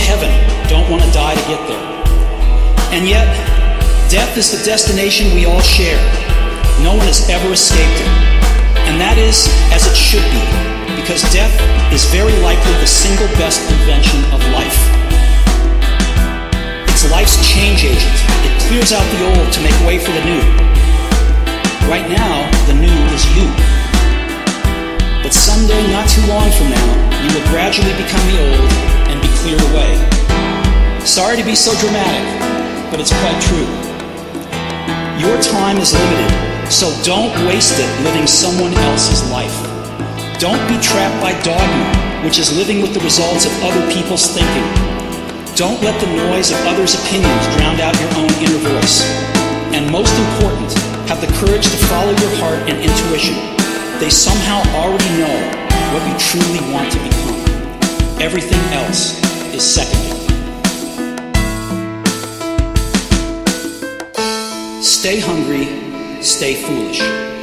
heaven don't want to die to get there. And yet, death is the destination we all share. No one has ever escaped it. And that is as it should be, because death is very likely the single best invention of life. It's life's change agent. It clears out the old to make way for the new. Right now, the new is you. But someday, not too long from now, you will gradually become the old and be cleared away. Sorry to be so dramatic, but it's quite true. Your time is limited, so don't waste it living someone else's life. Don't be trapped by dogma, which is living with the results of other people's thinking. Don't let the noise of others' opinions drown out your own inner voice. And most important, have the courage to follow your heart and intuition. They somehow already know what you truly want to become. Everything else is secondary. Stay hungry, stay foolish.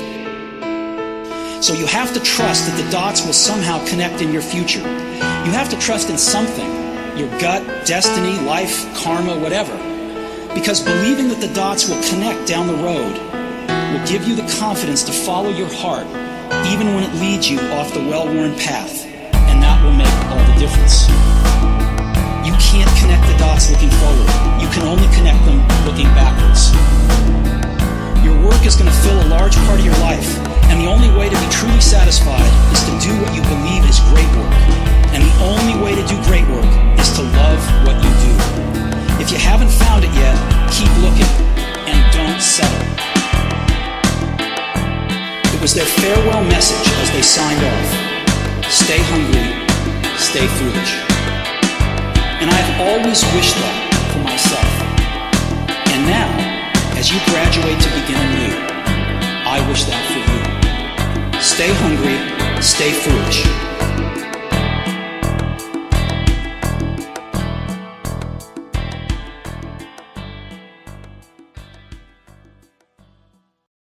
So you have to trust that the dots will somehow connect in your future. You have to trust in something, your gut, destiny, life, karma, whatever. Because believing that the dots will connect down the road will give you the confidence to follow your heart, even when it leads you off the well-worn path. And that will make all the difference. You can't connect the dots looking forward. You can only connect them looking backwards. Your work is going to fill a large part of your life, and the only way to be truly satisfied is to do what you believe is great work. And the only way to do great work is to love what you do. If you haven't found it yet, keep looking, and don't settle. It was their farewell message as they signed off. Stay hungry, stay foolish. And I've always wished that for myself. And now, as you graduate to begin anew, I wish that for you. Stay hungry, stay foolish.